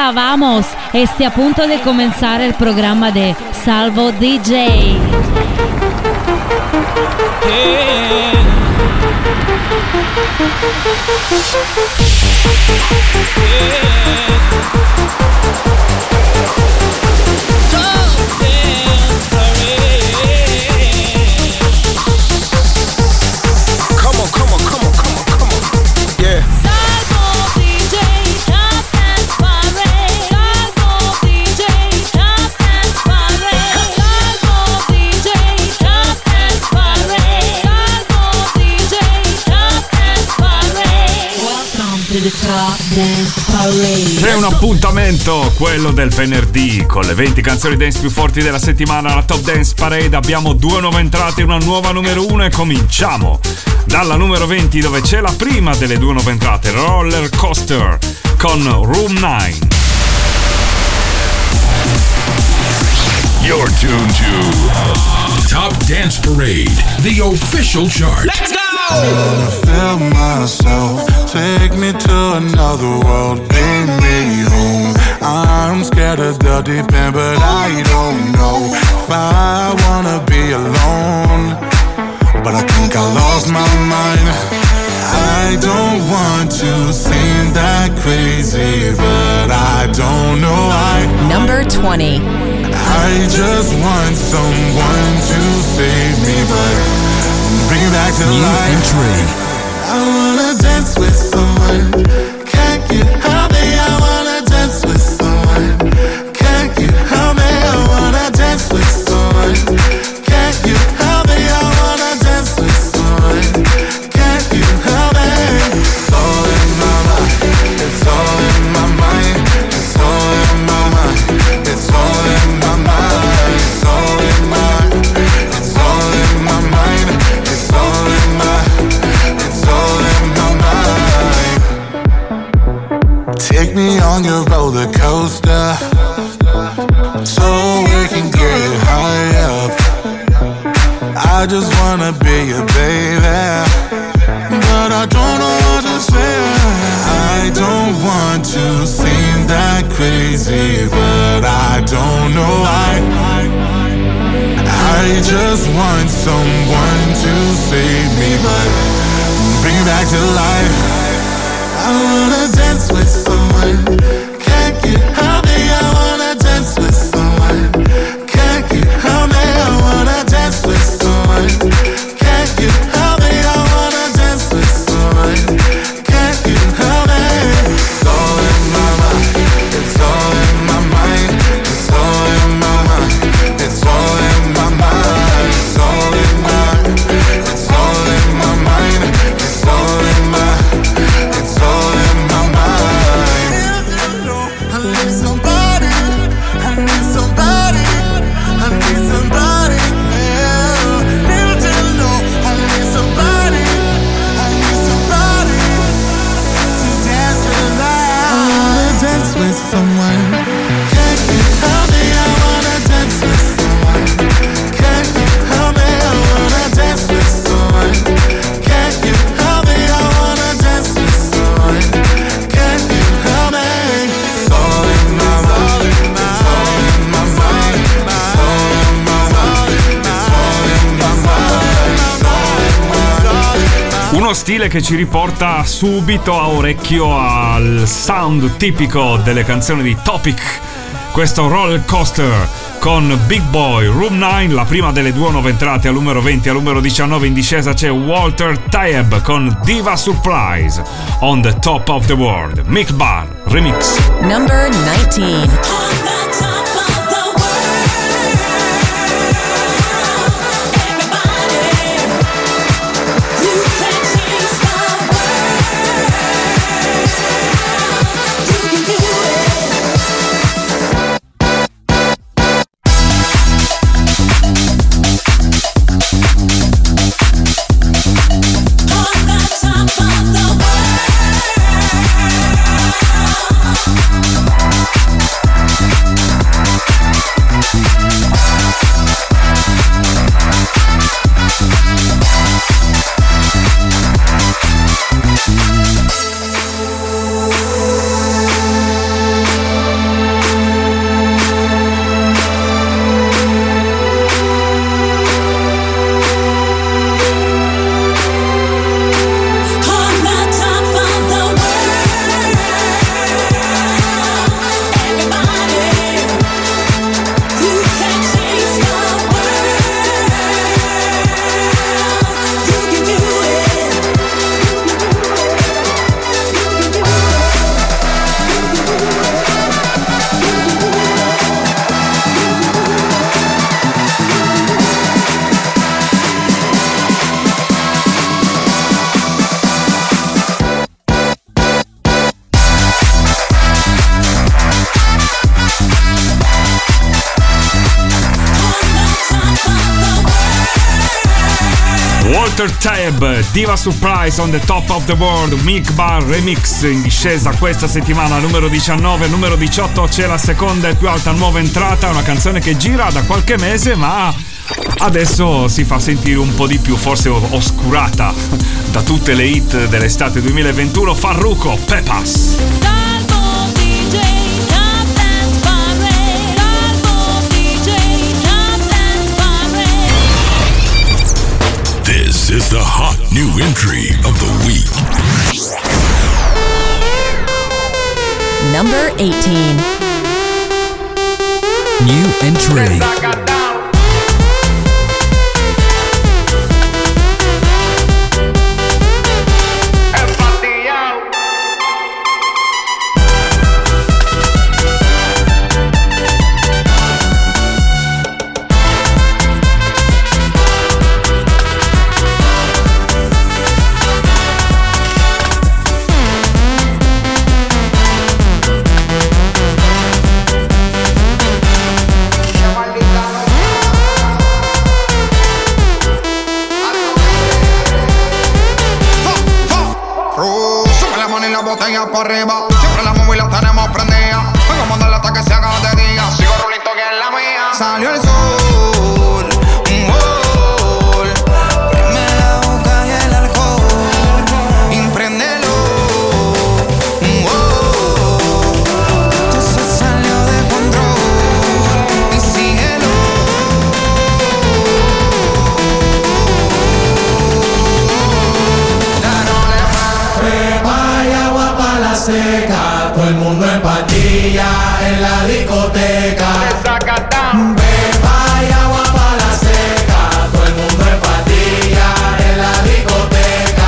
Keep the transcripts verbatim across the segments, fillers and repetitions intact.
Hola, vamos. Este a punto de comenzar el programa de Salvo D J. Yeah. Come on, come on, come on, come on, come on. Yeah. Salvo D J, Top Dance Parade. Salvo D J, Top Dance Parade. Salvo D J, Top Dance Parade. Salvo D J, Top Dance Parade. Welcome to the Top Dance Parade. C'è un appuntamento, quello del venerdì, con le venti canzoni dance più forti della settimana. La Top Dance Parade, abbiamo due nuove entrate e una nuova numero uno e cominciamo dalla numero venti, dove c'è la prima delle due nuove entrate, Roller Coaster con Room nine. You're tuned to Top Dance Parade, the official chart. Let's go! I wanna feel myself, take me to another world, bring me home. I'm scared of the deep end, but I don't know if I wanna be alone. But I think I lost my mind. I don't want to seem that crazy, but I don't know why. Number twenty. I just want someone to save me, but bring it back to New life. entry. I wanna dance with someone. Can't you help me? I wanna dance with someone. Can't you help me? I wanna dance with someone. Can't you help me? I wanna dance with someone. Can't you help me? It's all in my mind. It's all in my mind. It's all in my mind. It's all in my mind. It's all in my. It's all in my mind. It's all in my. It's all in my mind. Take me on your roller coaster, so we can get high up. I just wanna be your baby, but I don't know what to say. I don't want to seem that crazy, but I don't know why. I just want someone to save me, but bring me back to life. I wanna dance with someone. Can't you help me? I wanna dance with someone. Can't you help me? I wanna dance with someone. Can't you help me? I wanna dance with someone. Can't you help me? It's all in my mind. It's all in my mind. It's all in my mind. It's all in my mind. It's all in my. It's all in my mind. It's all in my. It's all in my mind. I need somebody. I need somebody. I need somebody. Yeah. Need to know. I need somebody. I need somebody to dance with the light. I wanna dance with someone. Can't you help me? I wanna dance with someone. Can't you help me? I wanna dance with someone. Can't you help me? I wanna dance with someone. Can't you help me? It's all in my mind. It's all in my mind. It's all in my mind. It's all in my mind. It's all in my mind. Uno stile che ci riporta subito a orecchio al sound tipico delle canzoni di Topic. Questo Roller Coaster con Big Boy, Room nine, la prima delle due nuove entrate. Al numero venti, al numero diciannove in discesa c'è Walter Tayeb con Diva Surprise, On the Top of the World, Mick Barr Remix. Number nineteen. Top of the world. Walter Tab, Diva Surprise on the Top of the World, Milk Bar Remix, in discesa questa settimana, numero diciannove. Numero diciotto c'è la seconda e più alta nuova entrata, una canzone che gira da qualche mese ma adesso si fa sentire un po' di più, forse oscurata da tutte le hit dell'estate duemilaventuno. Farruko, Pepas. Salvo D J Top Dance Parade. Salvo D J Top Dance Parade. This is the hot new entry of the week. Number eighteen. New entry. Botella para arriba, siempre la móvil la tenemos prendida. Vengo a mandarle hasta que se haga de día. Sigo rulito que es la mía. Salió el sol, un gol. Prime la boca y el alcohol. Impréndelo, un gol. Esto se salió de control. Y síguelo. Seca, todo el mundo en patilla en la discoteca. Beba y agua para la seca, todo el mundo en patilla en la discoteca.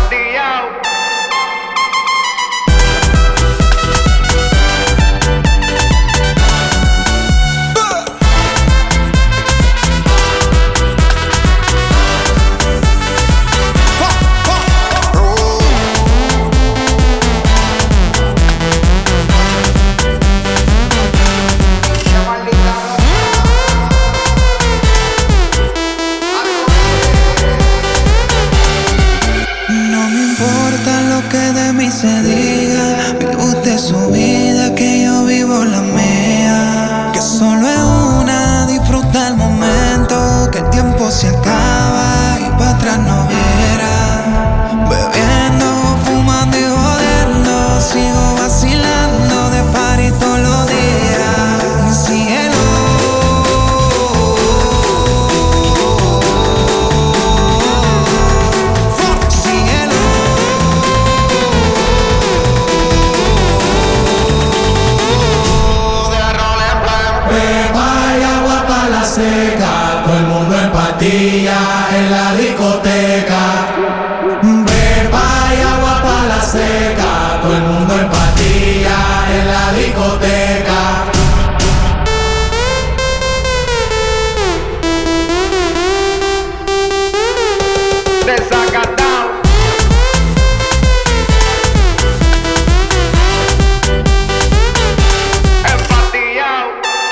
Se diga, vive usted su vida, que yo vivo la mía. Que solo es una, disfruta el momento, que el tiempo se acaba y para atrás no viera. Bebiendo, fumando y jodiendo, sigo vacilando de party todos los días. Síguelo. Seca, todo el mundo en patilla en la discoteca. Beba y agua para la seca, todo el mundo en patilla en la discoteca. Desacatado. Empatillado.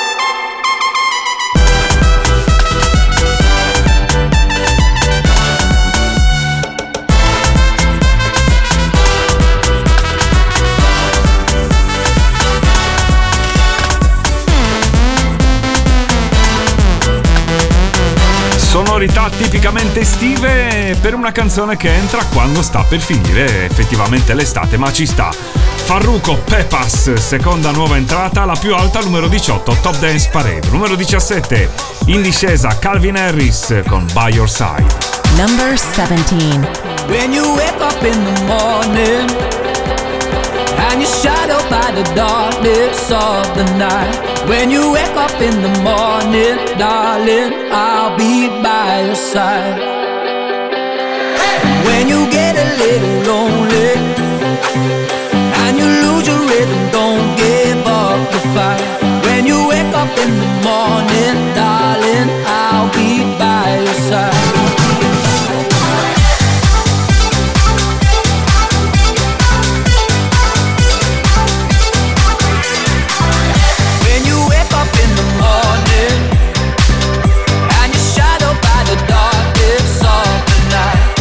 Sonorità tipicamente estive per una canzone che entra quando sta per finire effettivamente l'estate, ma ci sta. Farruko, Pepas, seconda nuova entrata, la più alta, numero diciotto, Top Dance Parade. Numero diciassette, in discesa, Calvin Harris con By Your Side. Number seventeen. When you wake up in the morning and you're shadowed by the darkness of the night. When you wake up in the morning, darling, I'll be by your side. When you get a little lonely and you lose your rhythm, don't give up the fight. When you wake up in the morning, darling, I'll be by your side. Night.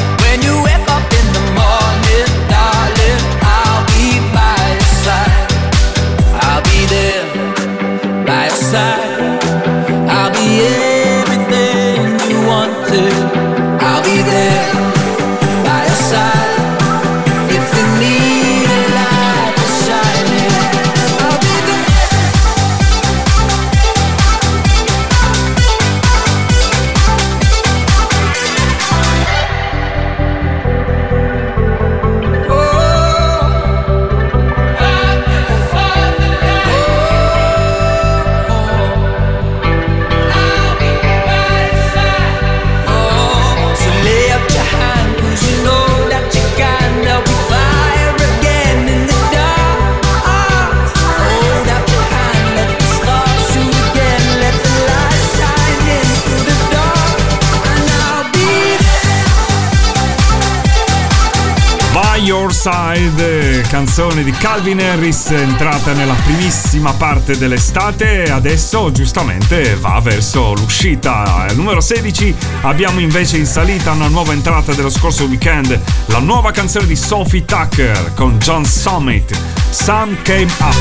Side, canzone di Calvin Harris entrata nella primissima parte dell'estate e adesso giustamente va verso l'uscita. Al numero sedici abbiamo invece in salita una nuova entrata dello scorso weekend, la nuova canzone di Sophie Tucker con John Summit, Sun Came Up.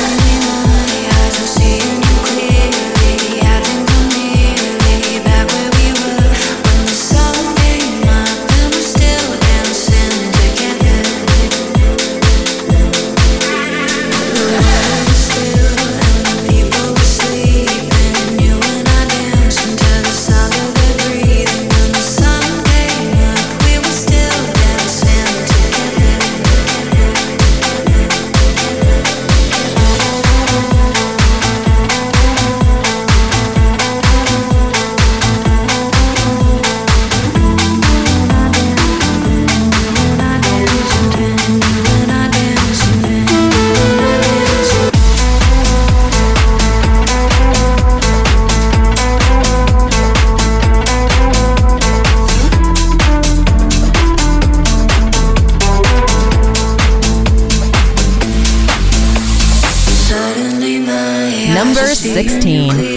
Number sixteen.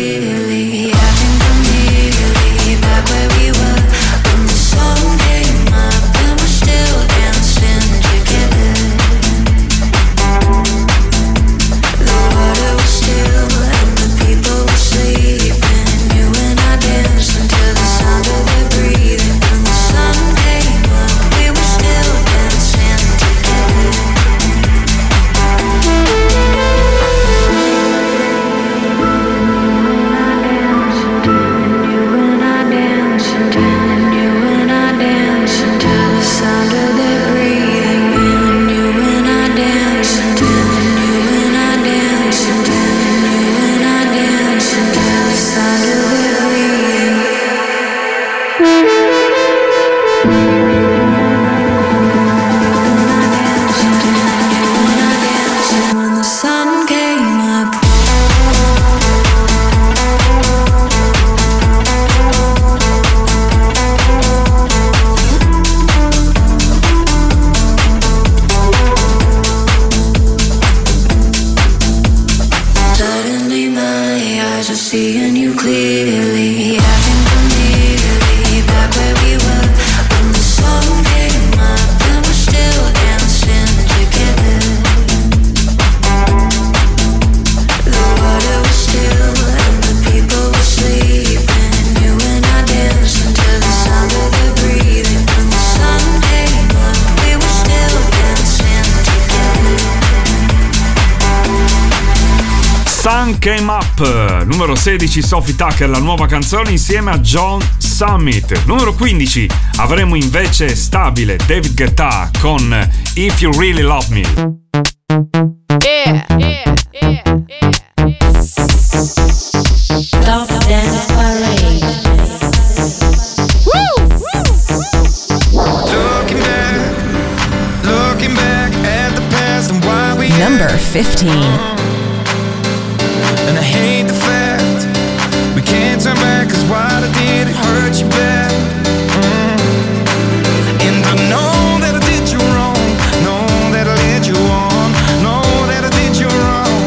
Sun Came Up, numero sedici Sophie Tucker, la nuova canzone insieme a John Summit. Numero quindici avremo invece stabile David Guetta con If You Really Love Me. Yeah, yeah, yeah, yeah. Top Dance Parade. Woo! Looking back, looking back at the past and why we Number fifteen. And I hate the fact we can't turn back, cause what I did, it hurt you bad. Mm. And I know that I did you wrong, know that I led you on, know that I did you wrong.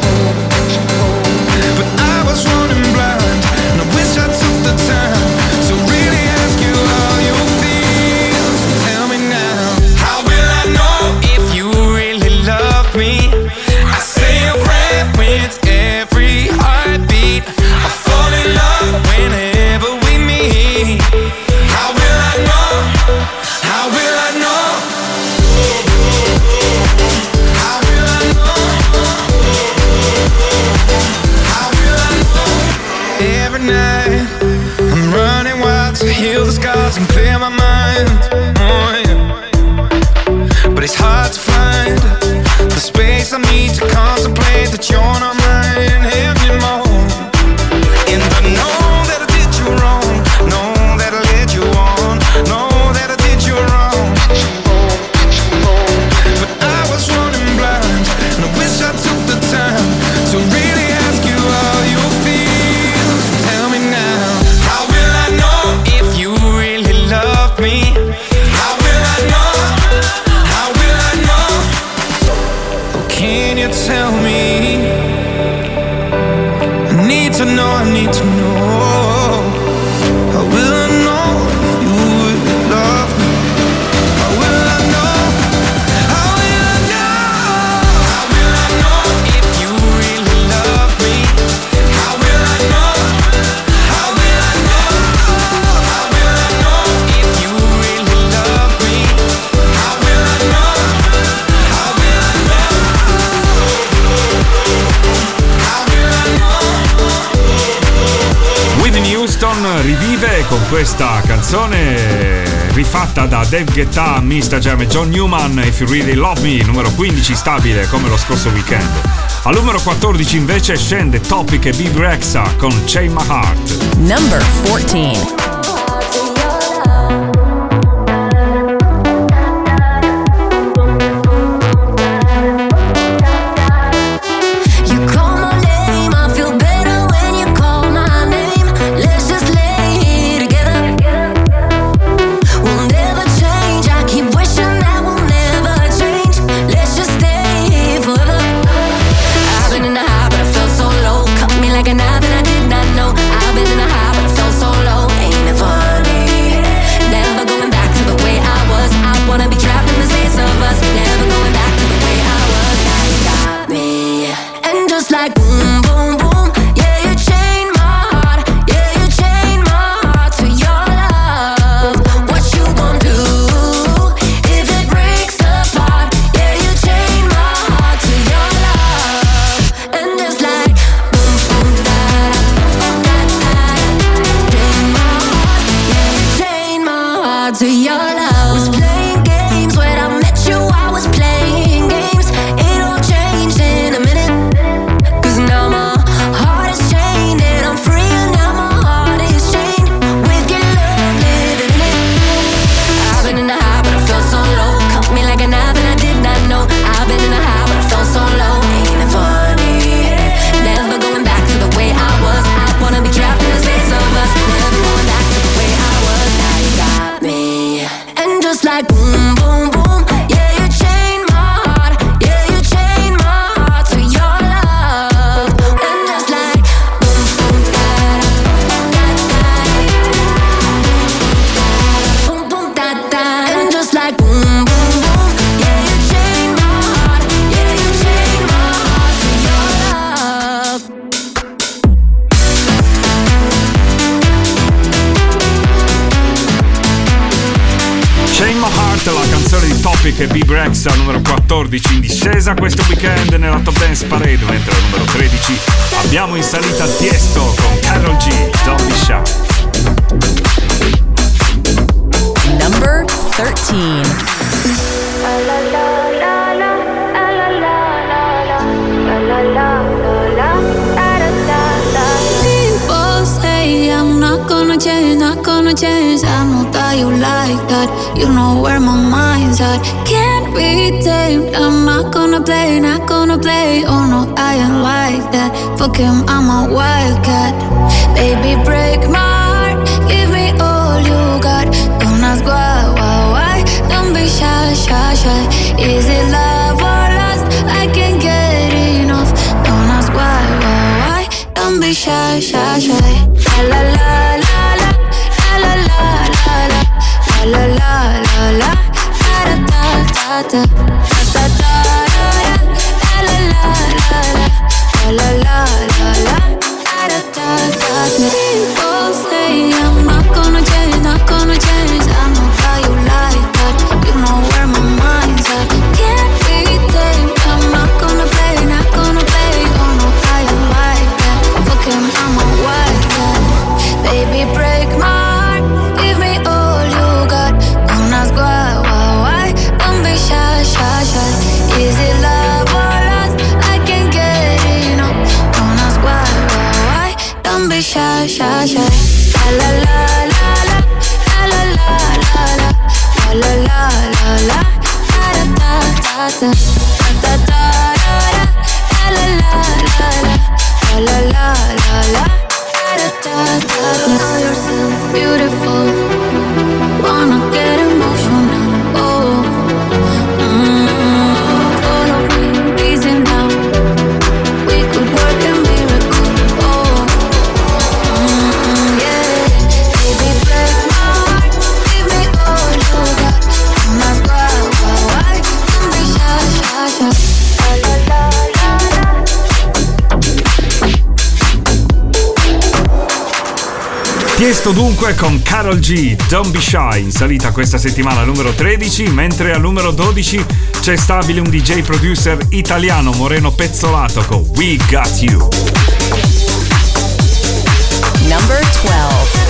But I was running blind, and I wish I took the time to really ask you how you feel. So tell me now, how will I know if you really love me? I say a prayer with every heartbeat. I fall in love whenever we meet. How will I know? How will I know? How will I know? How will I know? Every night I'm running wild to heal the scars and clear my mind. Oh, yeah. But it's hard to find the space I need to contemplate that you're not mine anymore. And I know that I did you wrong, know that I led you on, know that I did you wrong. But I was running blind, and I wish I took the time to really ask you how you feel. So tell me now, how will I know if you really love me? How will I know? How will I know I need to know. How will I know if you really love me? How will I know? How will I know? How will I know if you really love me? How will I know? How will I know? How will I know if you really love me? How will I know? How will I know? How will I know? Whitney Houston rivive con questa canzone rifatta da Dave Guetta, Mista Jam e John Newman, If You Really Love Me, numero quindici stabile come lo scorso weekend. Al numero quattordici invece scende Topic e Big Rexha con Chain My Heart. Number fourteen. Che Big Rexha numero quattordici in discesa questo weekend nella Top Dance Parade, mentre al numero tredici abbiamo in salita Tiesto con Karol G, Don't Be Shy. Number thirteen. People say I'm not gonna change, not gonna change. I know that you like that. You know where my mind's at. Can't be tamed. I'm not gonna play, not gonna play. Oh no, I ain't like that. Fuck him, I'm a wildcat. Baby, break my heart. Give me all you got. Don't ask why, why, why. Don't be shy, shy, shy. Is it love or lust? I can't get enough. Don't ask why, why, why. Don't be shy, shy, shy. La la la la la. La la la la la. La la la la la. Da da da da. Da da da da. La la la la la. La la la la. Da da da da. People say I'm not gonna change, not gonna change. I know how you like that. You know where my mind's at. Can't be tamed. I'm not gonna play, not gonna play. Oh no, I ain't like that. Fuck him, I'm a wildcat. Baby, break my heart. Give me all you got. Don't ask why, why, why. Don't be shy, shy, shy. Is it love or lust? I can't get enough. Tiesto dunque con Karol G, Don't Be Shy, in salita questa settimana al numero tredici, mentre al numero dodici c'è stabile un D J producer italiano, Moreno Pezzolato, con We Got You. Number twelve.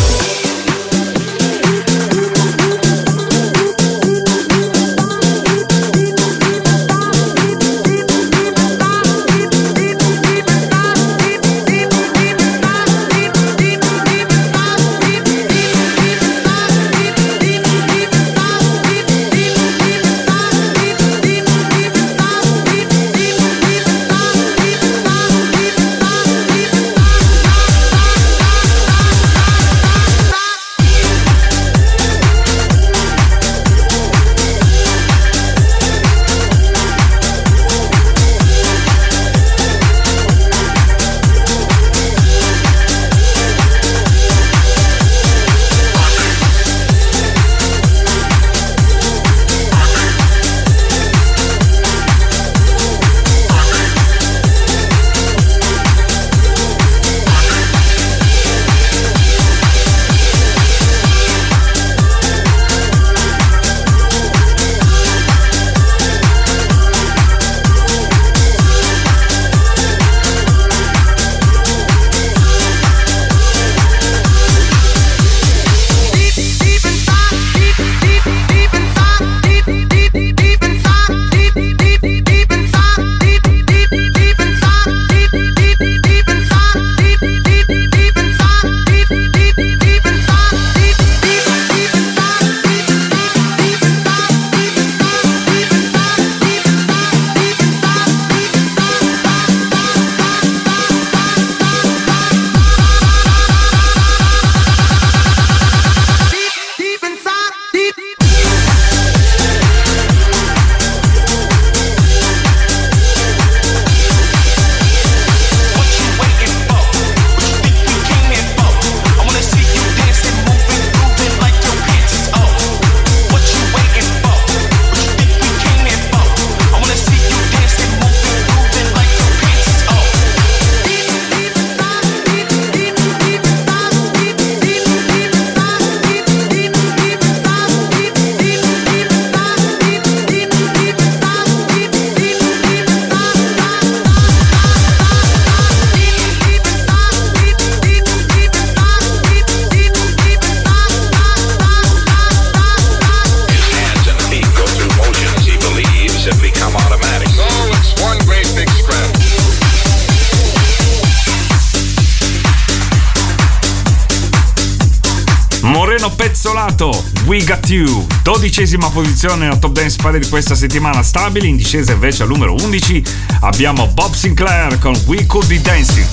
Pezzolato, We Got You, dodicesima posizione nella Top Dance Parade di questa settimana stabile. In discesa invece al numero undici abbiamo Bob Sinclair con We Could Be Dancing.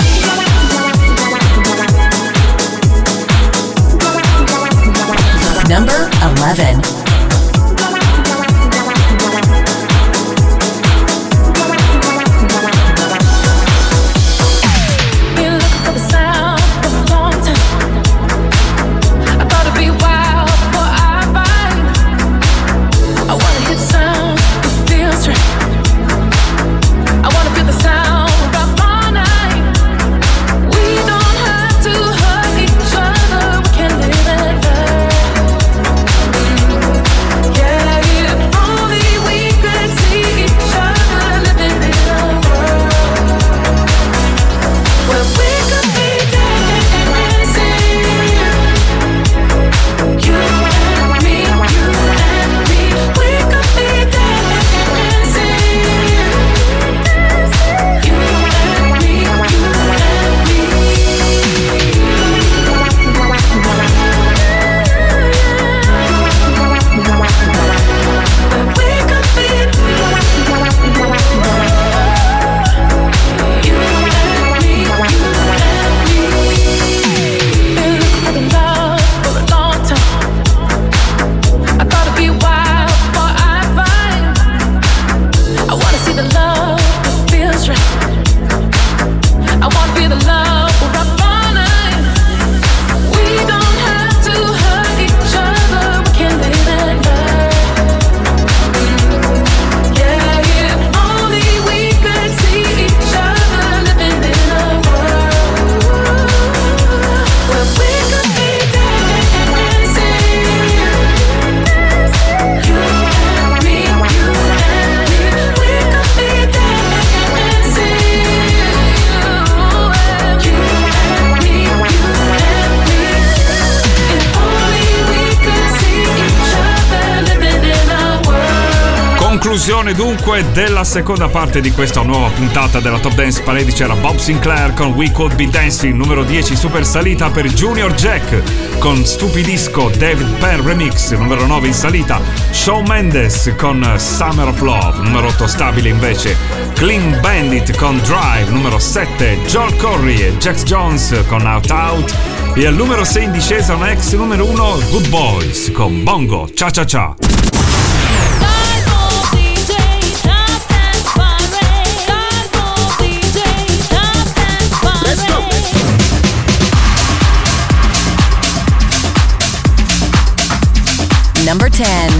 Number eleven. We don't have to hurt each other, we can live it. Conclusione dunque della seconda parte di questa nuova puntata della Top Dance Parade. C'era Bob Sinclair con We Could Be Dancing, numero dieci super salita per Junior Jack con Stupidisco David Penn Remix, numero nove in salita Shawn Mendes con Summer of Love, numero otto stabile invece Clean Bandit con Drive, numero sette Joel Corry e Jax Jones con Out Out, e al numero sei in discesa un ex numero uno Good Boys con Bongo Cha Cha Cha. Number ten.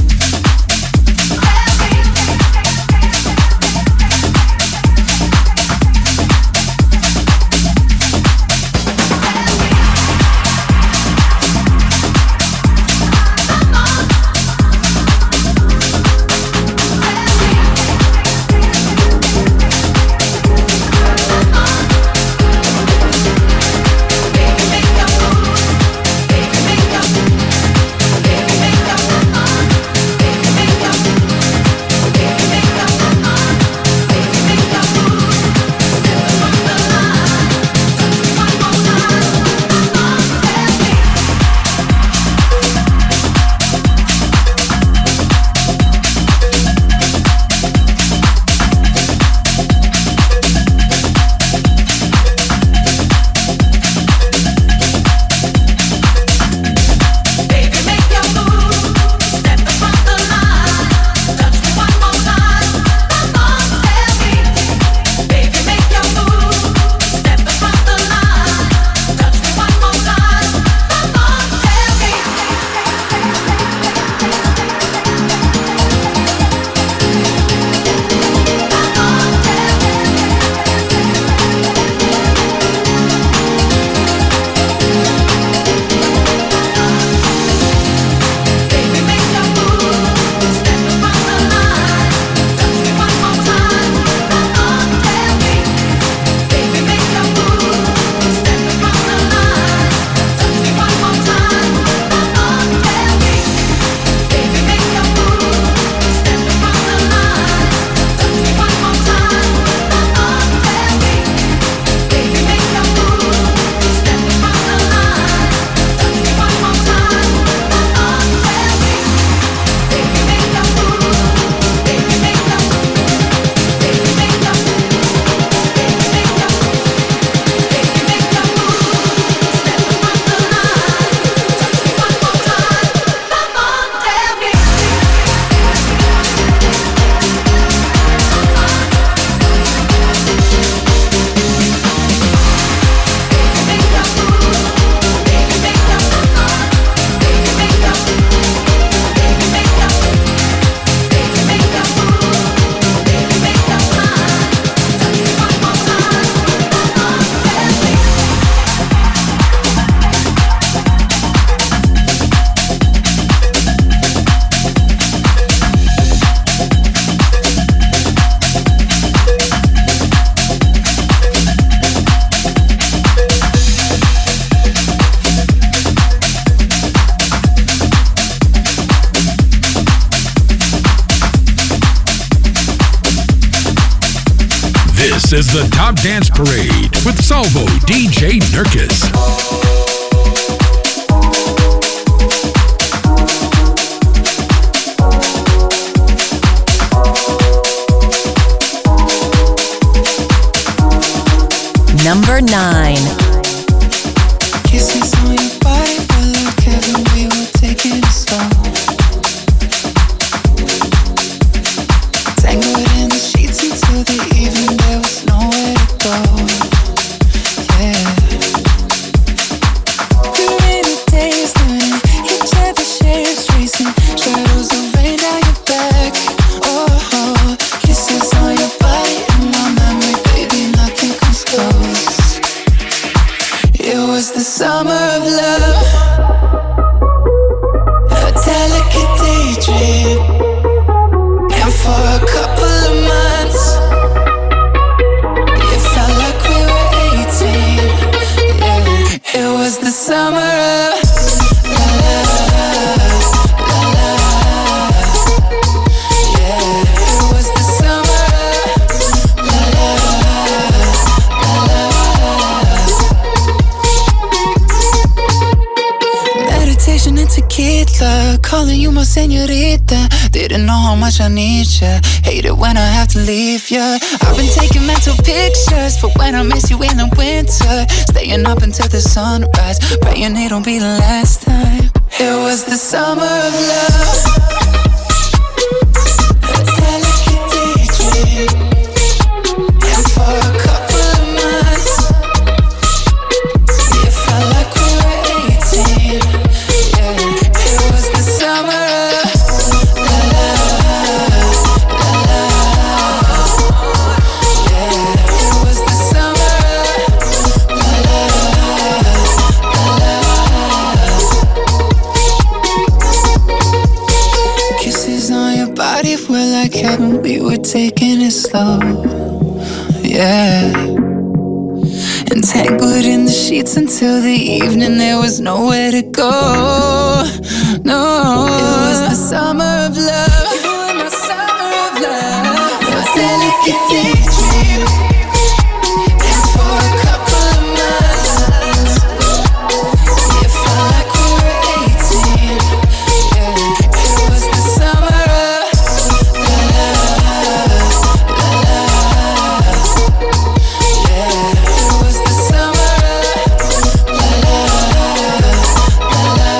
This is the Top Dance Parade with Salvo D J Nurkis. Number nine. Kisses on your body were like heaven, we were taking it slow. Tangled in the sheets until the evening, there was nowhere to go. Yeah. The rainy days learning each other's shapes, tracing shadows of rain down your back. Oh, oh, kisses on your body and my memory, baby, nothing comes close. It was the summer of love, a delicate daydream, and for a couple of months it felt like we were eighteen. Yeah, it was the summer of la la la la. Yeah. calling you my señorita. Didn't know how much I need ya. Hate it when I have to leave ya. I've been taking mental pictures for when I miss you in the winter. Staying up until the sunrise, praying it don't be the last time. It was the summer of love. A delicate daydream. And for a couple of months, it felt like we were eighteen. Yeah, it was the summer of la la la la. Yeah, it was the summer of la la la la. Kisses on your body were like heaven. We were taking it slow. Yeah. Entangled in the sheets until the evening, there was nowhere to go. No, it was the summer of love. You were my summer of love. Your delicate daydream. And for a couple of months, it felt like we were eighteen. Yeah, it was the summer of la la la la. Yeah, it was the summer of la la la la.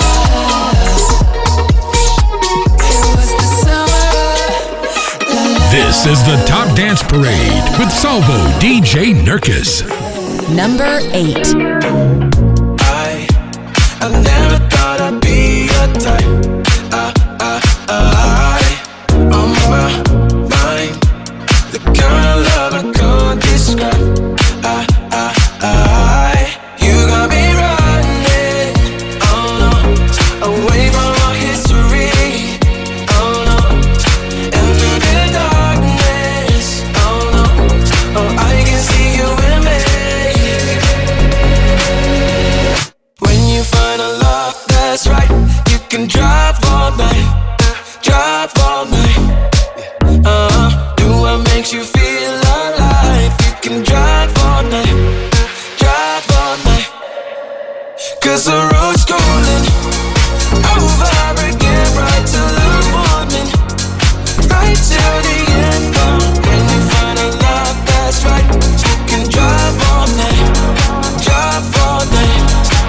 It was the summer of la la. This is the Top Dance Parade with Salvo D J Nurkis. Number eight. I, I never thought I'd be your type. I, I, I, on my mind, the kind of love I can't describe. I, I, I, you got me running, oh no, away from our history, oh no, and through the darkness, oh no, oh I can see you in me. When you find a love that's right, you can drive all night, drive all night. Uh, do what makes you feel alive. You can drive all night, drive all night. Cause the road's calling, over again, right till the morning, right till the end. Uh, when you find a love that's right, you can drive all night, drive all night.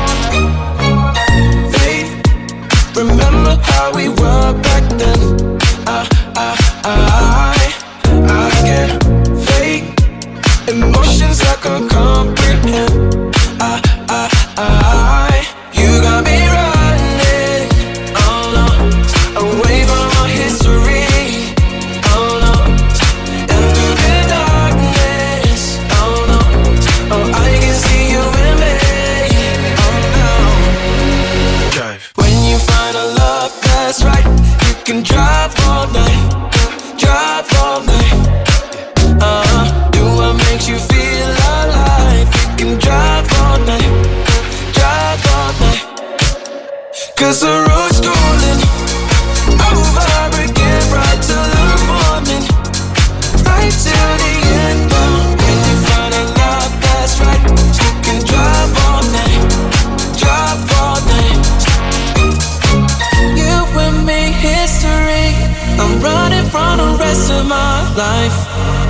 Babe, remember how we were back then? I, I, I, I get fake emotions I can't comprehend. I, I, I, you got me running, oh no, away from our history, oh no, and through the darkness, oh no, oh I can see you in me, oh no. Drive. When you find a love that's right, you can drive all night, drive all night. Uh, do what makes you feel alive. You can drive all night, drive all night. Cause the road's calling, over again, right till the morning, right till the end. Uh, when you find a love that's right, you can drive all night, drive all night. You and me, history. I'm running from the rest of my life.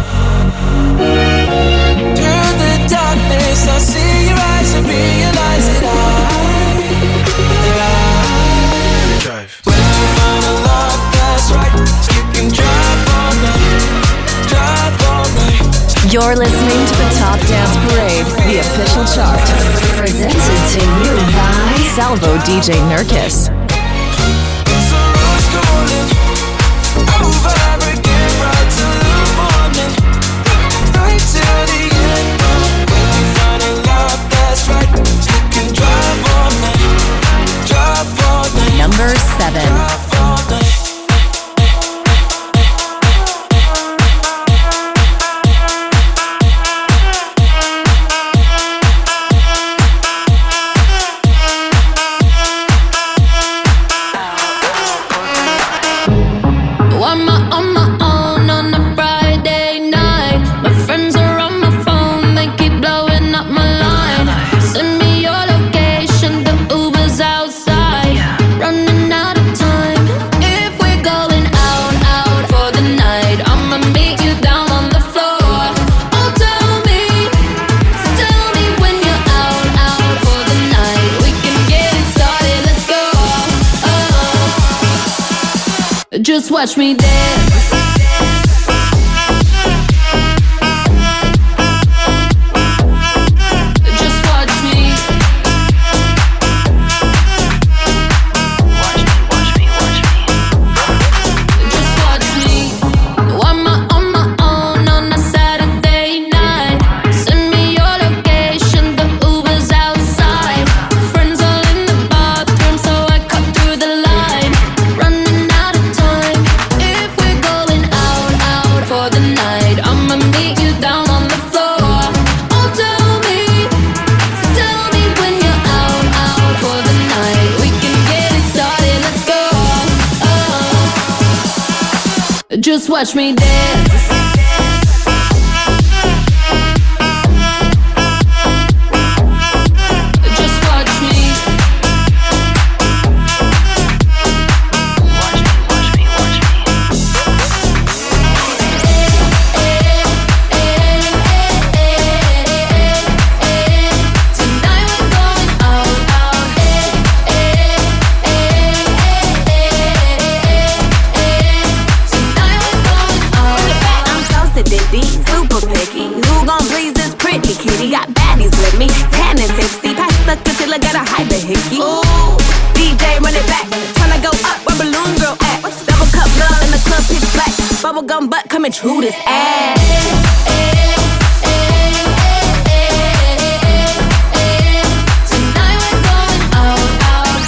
Through the darkness, I see your eyes and realize that I, that I drive. When you find a love that's right, you can drive all night, drive all night. You're listening to the Top Dance Parade, the official chart. Presented to you by Salvo D J Nurkis. Cause the road's calling, over again, right till the morning, right till the end. When you find a love that's right, you can drive all night, drive all night. Number seven. Drive all night. Just watch me dance. Just watch me. Watch me, watch me, watch me. Just watch me. I'm on my own on a Saturday night. Send me your location, the Uber's outside. Friends all in the bathroom, so I cut through the line. Running out of time. If we're going out, out for the night, I'ma meet you down on the floor. Oh, tell me, tell me when you're out, out for the night. We can get it started, let's go. Oh. Just watch me dance. Just watch me. Watch me, watch me, watch me. Tonight we're going out, out. Tonight we're going out, I'm so sedity, super picky. Who gon' please this pretty kitty? Got baddies with me, tan and tipsy. Pass the concealer, gotta hide the hickey. Ooh, D J run it back. Tryna go up where Balloon Girl at. Double cup girl in the club, pitch black. Bubblegum butt coming true this ass. Tonight we're going out, out.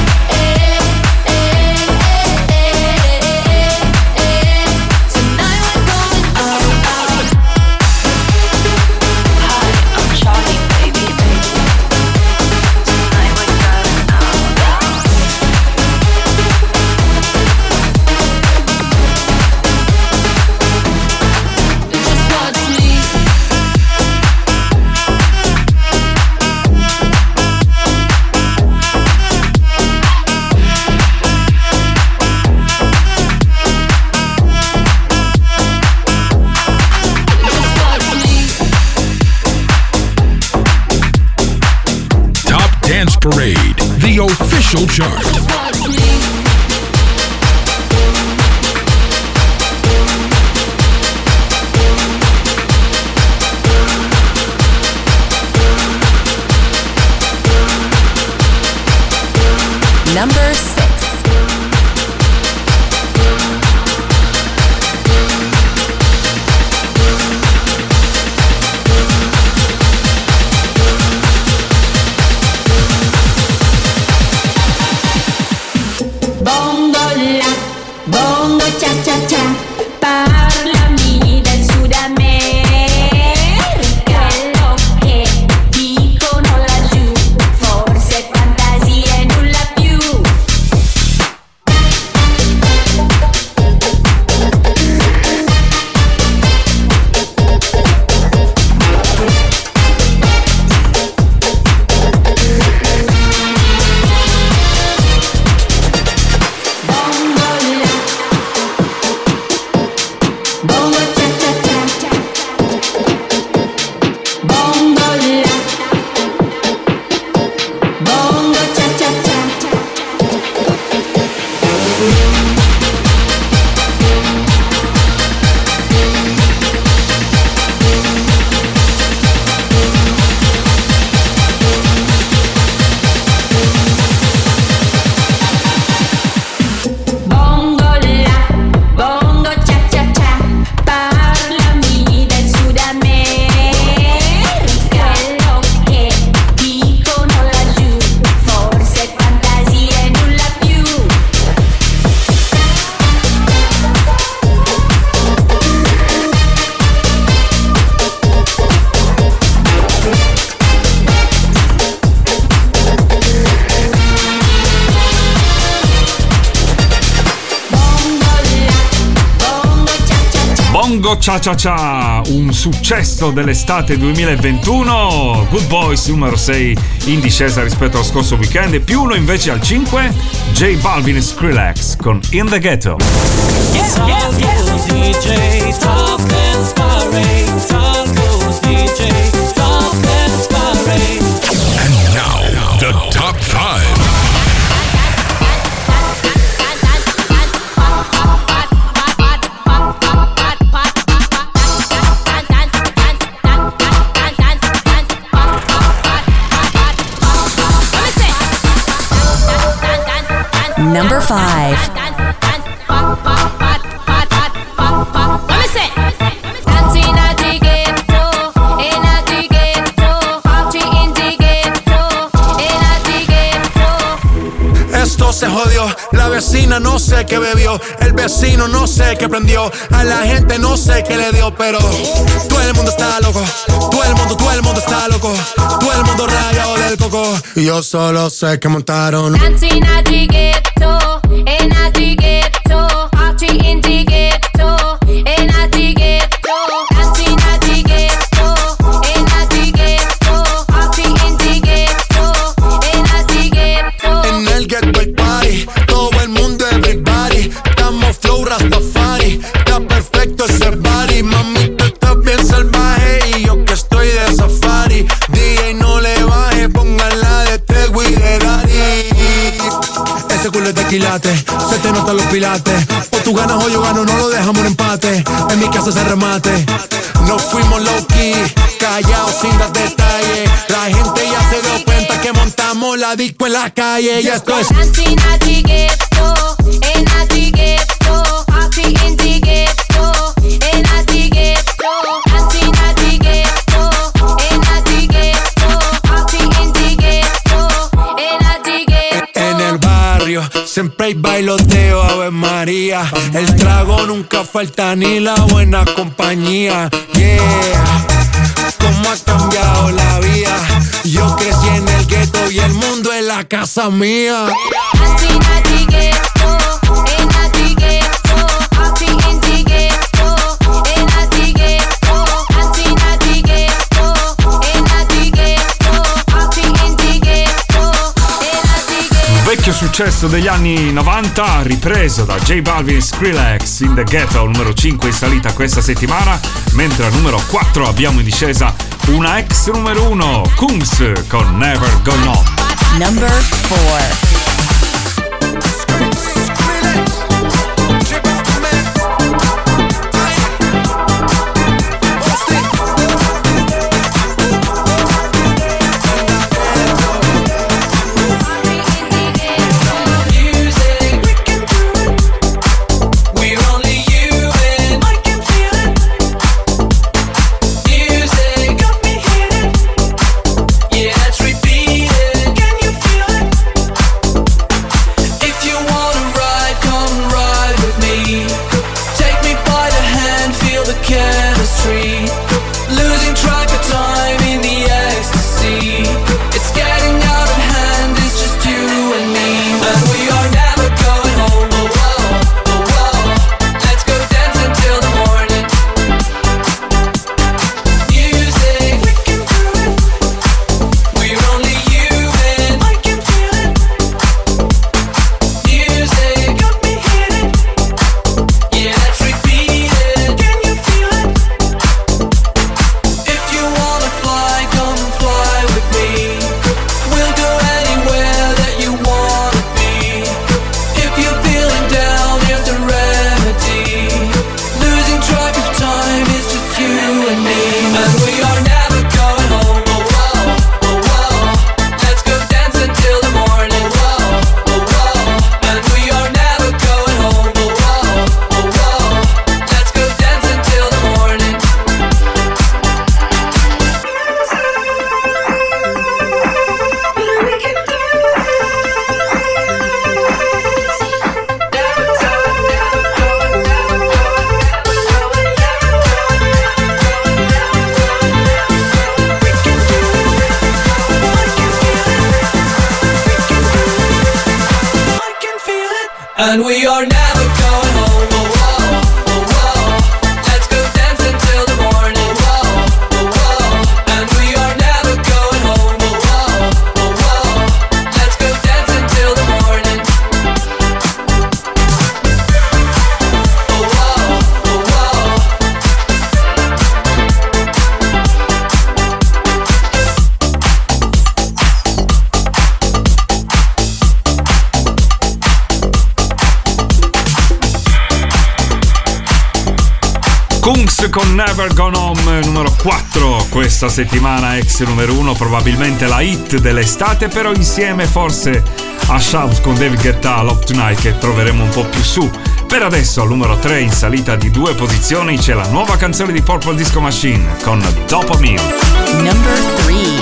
Tonight we're going out, out. Hi, I'm Charlie, baby, baby. Tonight we're going out, out. Just watch me. Just watch me. Top Dance Parade, the official chart. Just watch me. Number six. Bongo la, bongo cha cha cha, parlami del Sud America. Quello che dicono laggiù, forse fantasia e nulla più. Bongo cha cha cha, bongo la, bongo cha cha cha. Bongo la, bongo cha cha cha, parlami del Sud America. Quello che dicono laggiù, forse fantasia e nulla più. Bongo Cha Cha Cha, un successo dell'estate duemilaventuno. Good Boys numero sei in discesa rispetto allo scorso weekend, e più uno invece al cinque, J Balvin e Skrillex con In the Ghetto. D J Top Dance Parade, Salvo's D J Top Dance Parade. And now, the top five. number five. Esto se jodió, la vecina no sé qué bebió, el vecino no sé qué prendió, a la gente no sé qué le dio, pero todo el mundo está loco, todo el mundo, todo el mundo está loco, todo el mundo rayado del coco. Y yo solo sé que montaron. Dancing at the ghetto, in at the ghetto, party in the ghetto, in at the ghetto, dancing at the ghetto, in at the ghetto, party in the ghetto, in at the ghetto. En el ghetto hay party, todo el mundo everybody, estamos flow Rastafari, está perfecto ese body, mami tú estás bien salvaje y yo que estoy de safari, D J no le baje, póngala de Tego y de Daddy. Ese culo es de quilate, se te notan los pilates, o tú ganas o yo gano, no lo dejamos en empate, en mi casa se remate. Nos fuimos low key, callados sin dar detalles, la gente ya se dio cuenta que montamos la disco en la calle y esto es Dancing at the ghetto, in at the ghetto, party in the ghetto, in at the ghetto, dancing at the ghetto, in at the ghetto, party in the ghetto, in at the ghetto. en el barrio, siempre hay bailoteo, Ave María, el trago nunca falta ni la buena compañía, yeah. Cómo ha cambiado la vida, yo crecí en el gueto y el mundo es la casa mía. Dancing at the ghetto, in at the ghetto, party in the ghetto, in at the ghetto, dancing at the ghetto, in at the ghetto, party in the ghetto, in at the ghetto. Vecchio successo degli anni novanta, ripreso da J Balvin e Skrillex, In The Ghetto, numero cinque in salita questa settimana, mentre al numero quattro abbiamo in discesa una ex numero uno, Kungs con Never Gonna On. Number four. And we are never going home. Oh, oh, oh, oh. Let's go dancing till the morning. Oh, oh, oh. And we are never going home. Oh, oh, oh, oh. Let's go dancing till the morning. Oh, oh, oh, oh. Kungs con Never Gone Home, numero quattro questa settimana, ex numero uno, probabilmente la hit dell'estate, però insieme forse a Shout con David Guetta, Love Tonight, che troveremo un po' più su. Per adesso al numero tre, in salita di due posizioni, c'è la nuova canzone di Purple Disco Machine con Dopamine. Number three.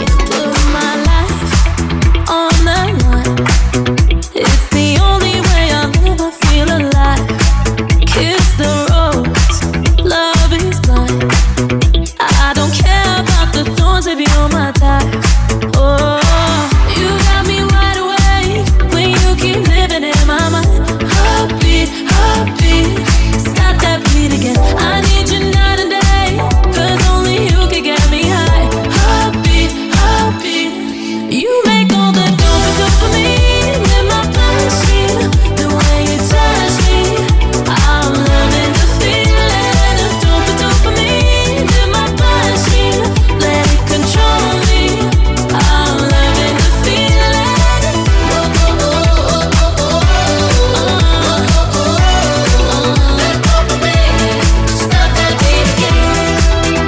It's the only way I'll ever feel alive. Kiss the rose, love is blind. I don't care about the thorns if you're my type. Oh, you got me wide awake when you keep living in my mind. Heartbeat, heartbeat, stop that beat again. I need you night and day, 'cause only you can get me high. Heartbeat, heartbeat, you make all the dopamine in my machine. The way you touch me, I'm loving the feeling of dope dopamine in my machine. Let it control me. I'm loving the feeling. Oh, oh, oh, oh, oh, oh. That dopamine, stop that beat again.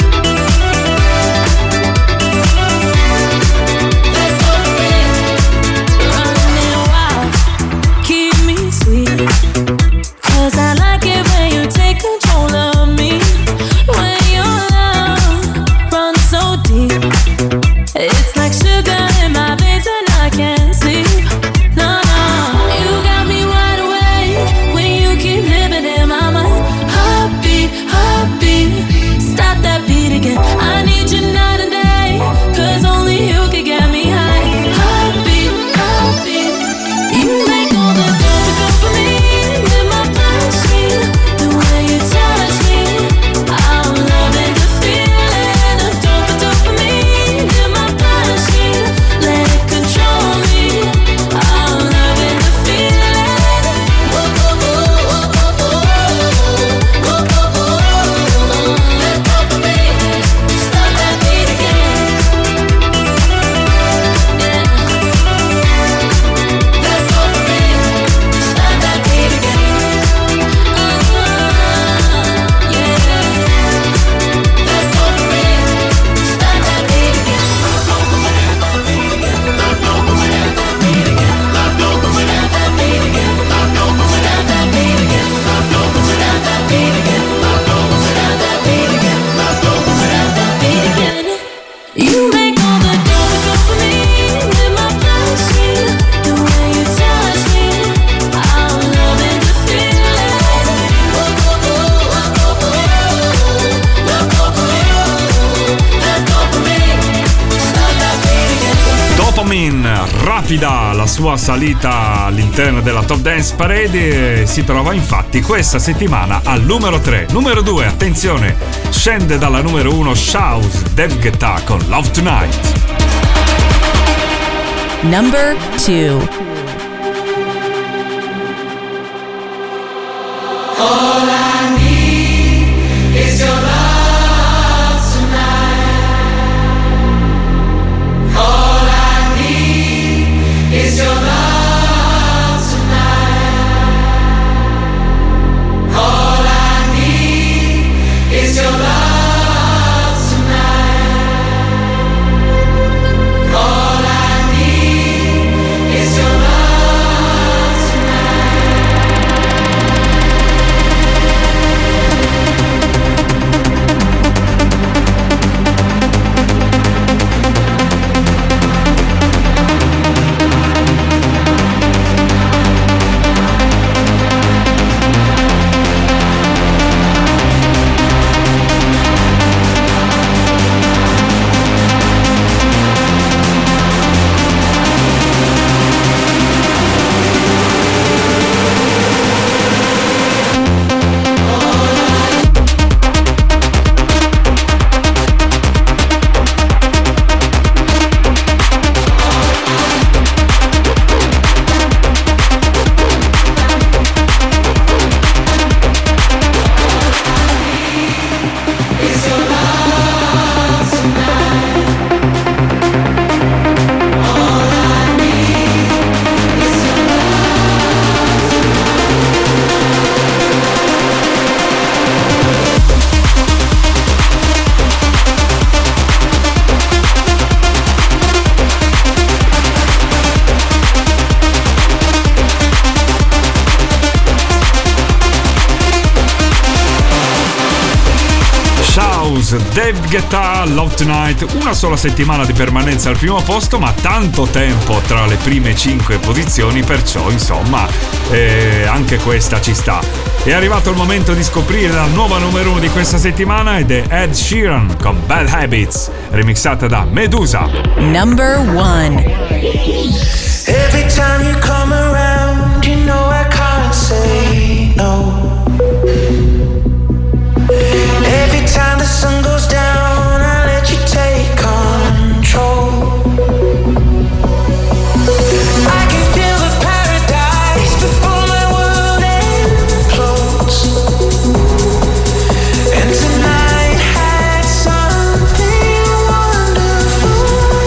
That dopamine, running wild, keep me sweet. 'Cause I like it when you take control of me. When your love runs so deep, it's like sugar in my veins and I can't sleep. No, no, you got me wide awake when you keep living in my mind. Heartbeat, heartbeat, stop that beat again. I need you night and day, 'cause only you can get me high. Heartbeat, heartbeat, you make all the dopamine in my machine. The way you touch me, I'm loving the feeling of dope dopamine in my machine. Let it control me. I'm loving the feeling. Oh, oh, oh, oh, oh, oh, oh, oh, oh. That dopamine, stop that beat again. Yeah. That dopamine, stop that beat again. Uh, yeah. That dopamine, stop that beat again. You make all the dopamine in my machine. The way you touch me, I'm loving the feeling. Oh, oh, oh, oh, oh, oh. That dopamine, that dopamine, stop that beat again. Dopamine, rapida la sua salita all'interno della Top Dance Parade, e si trova infatti questa settimana al numero tre. Numero due, attenzione, scende dalla numero uno Shout, David Guetta con Love Tonight. Number two. All I need is your love tonight. All I need is your love tonight. All I need is your love tonight. All I need is your love tonight. House, David Guetta, Love Tonight. Una sola settimana di permanenza al primo posto, ma tanto tempo tra le prime cinque posizioni, perciò insomma eh, anche questa ci sta. È arrivato il momento di scoprire la nuova numero uno di questa settimana ed è Ed Sheeran con Bad Habits, remixata da Medusa. Number one. Every time you come around, you know I can't say no. Every time the sun goes down, I let you take control. I can feel the paradise before my world implodes. And tonight had something wonderful.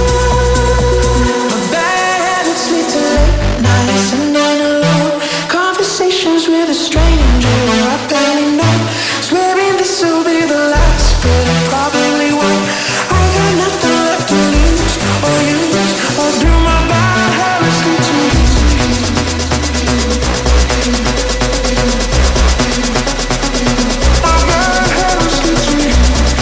My bad habits lead to late nights and then alone conversations with a stranger I barely know. Swearing this will be the last, but I probably won't. I got nothing left to lose or use, or do my bad habits lead to me? My bad habits lead to me.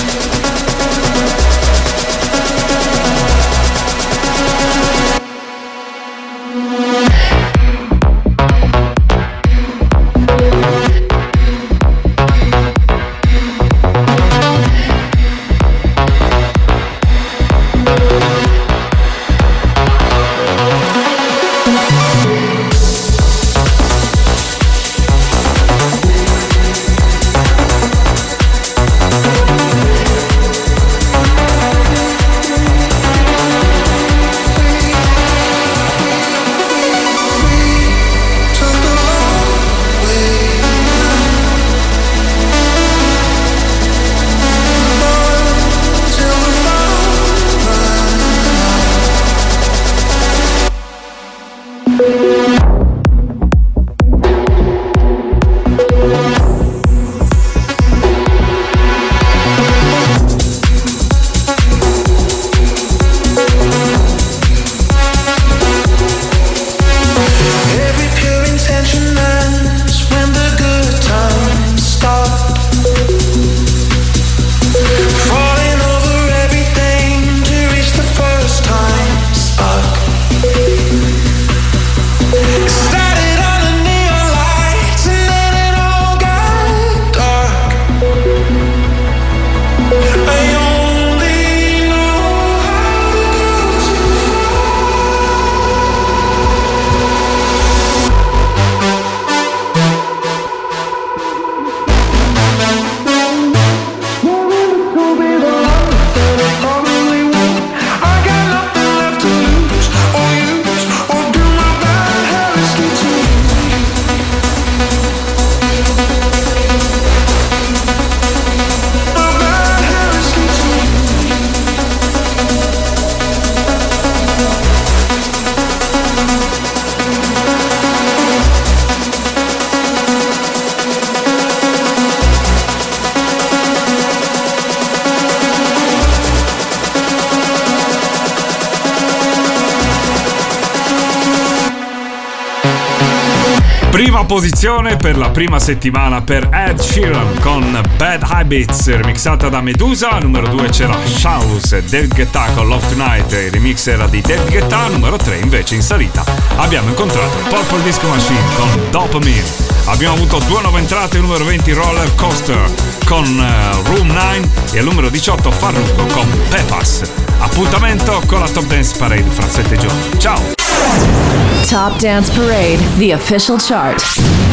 Prima posizione per la prima settimana per Ed Sheeran con Bad Habits, remixata da Medusa. Numero due c'era House, David Guetta con Love Tonight, il remix era di David Guetta. Numero tre invece in salita abbiamo incontrato Purple Disco Machine con Dopamine. Abbiamo avuto due nuove entrate, il numero venti Roller Coaster con uh, Room nove e al numero diciotto Farruko con Pepas. Appuntamento con la Top Dance Parade fra sette giorni. Ciao! Top Dance Parade, the official chart.